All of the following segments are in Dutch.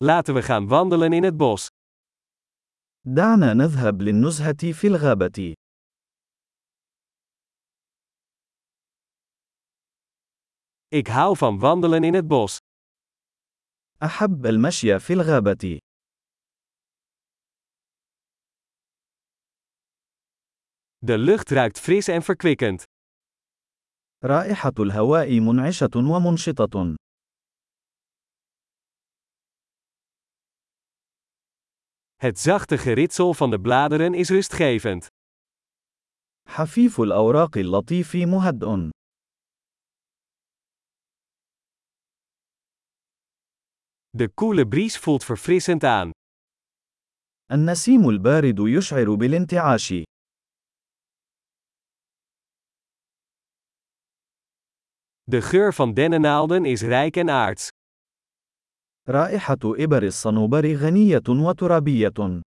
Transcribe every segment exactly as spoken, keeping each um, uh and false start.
Laten we gaan wandelen in het bos. دعنا نذهب للنزهة في الغابة. Ik hou van wandelen in het bos. أحب المشي في الغابة. De lucht ruikt fris en verkwikkend. رائحة الهواء منعشة ومنشطة. Het zachte geritsel van de bladeren is rustgevend. حفيف الأوراق اللطيف مهدئ. De koele bries voelt verfrissend aan. النسيم البارد يشعر بالانتعاش. De geur van dennennaalden is rijk en aards. رائحة إبر الصنوبر غنية وترابية.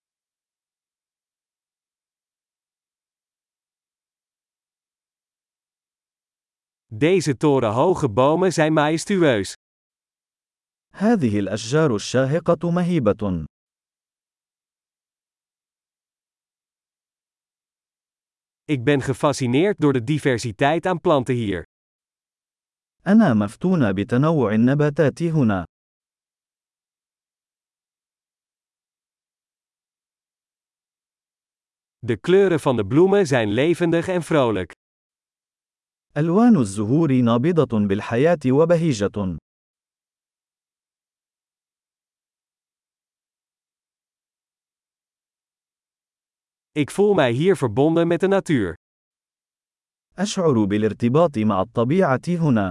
Deze torenhoge bomen zijn majestueus. هذه الأشجار الشاهقة مهيبة. Ik ben gefascineerd door de diversiteit aan planten hier. أنا مفتون بتنوع النباتات هنا. De kleuren van de bloemen zijn levendig en vrolijk. ألوان الزهور نابضة بالحياة وبهيجة. Ik voel mij hier verbonden met de natuur. أشعر بالارتباط مع الطبيعة هنا.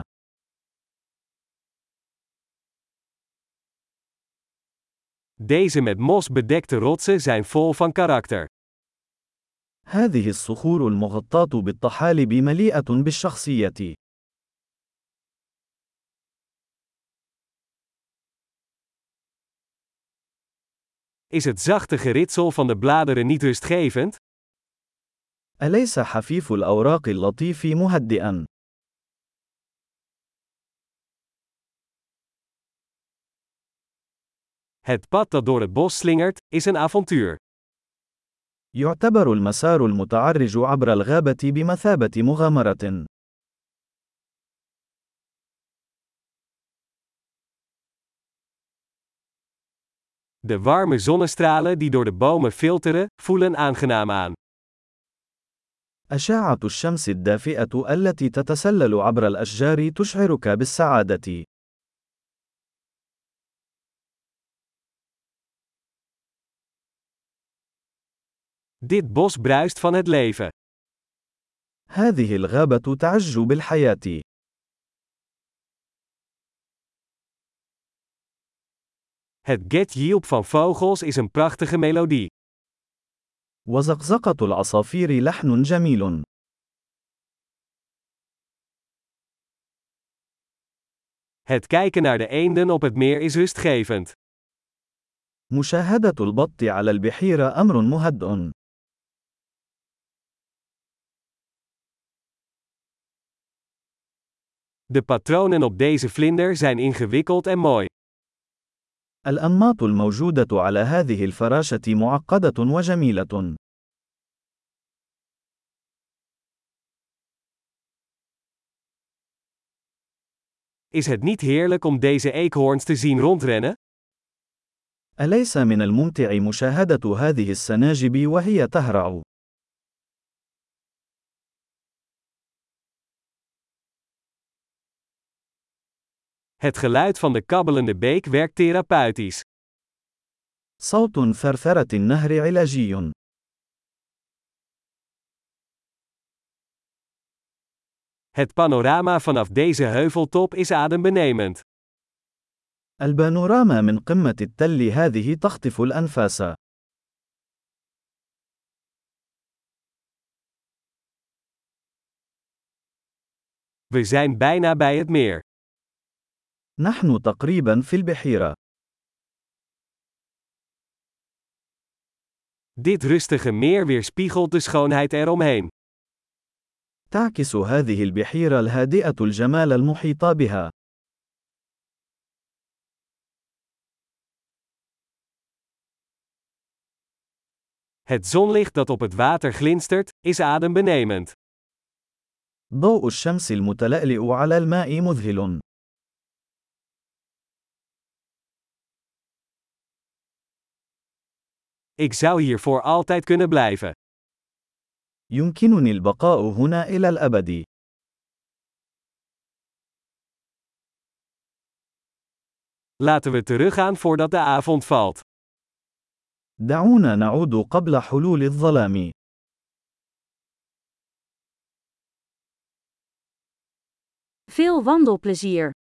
Deze met mos bedekte rotsen zijn vol van karakter. هذه الصخور المغطاة بالطحالب مليئة بالشخصية. Is het zachte geritsel van de bladeren niet rustgevend? أليس حفيف الأوراق اللطيف مهدئا؟ Het pad dat door het bos slingert, is een avontuur. يعتبر المسار المتعرج عبر الغابة بمثابة مغامرة. De warme zonnestralen die door de bomen filteren, voelen aangenaam aan. أشعة الشمس الدافئة التي تتسلل عبر الأشجار تشعرك بالسعادة. Dit bos bruist van het leven. هذه الغابة تعج بالحياة. Het getjilp van vogels is een prachtige melodie. وزقزقة العصافير لحن جميل. Het kijken naar de eenden op het meer is rustgevend. مشاهدة البط على البحيرة أمر مهدئ. De patronen op deze vlinder zijn ingewikkeld en mooi. الأنماط الموجودة على هذه الفراشة معقدة وجميلة. Is het niet heerlijk om deze eekhoorns te zien rondrennen? أليس من الممتع مشاهدة هذه السناجب وهي تهرع؟ Het geluid van de kabbelende beek werkt therapeutisch. صوت ثرثرة النهر علاجي. Het panorama vanaf deze heuveltop is adembenemend. البانوراما من قمة التل هذه تخطف الأنفاس. We zijn bijna bij het meer. نحن تقريبا في البحيرة. Dit rustige meer weerspiegelt de schoonheid eromheen. تعكس هذه البحيرة الهادئة الجمال المحيط بها. Het zonlicht dat op het water glinstert, is adembenemend. ضوء الشمس المتلألئ على الماء مذهل. Ik zou hier voor altijd kunnen blijven. يمكنني البقاء هنا إلى الأبد. Laten we teruggaan voordat de avond valt. دعونا نعود قبل حلول الظلام. Veel wandelplezier!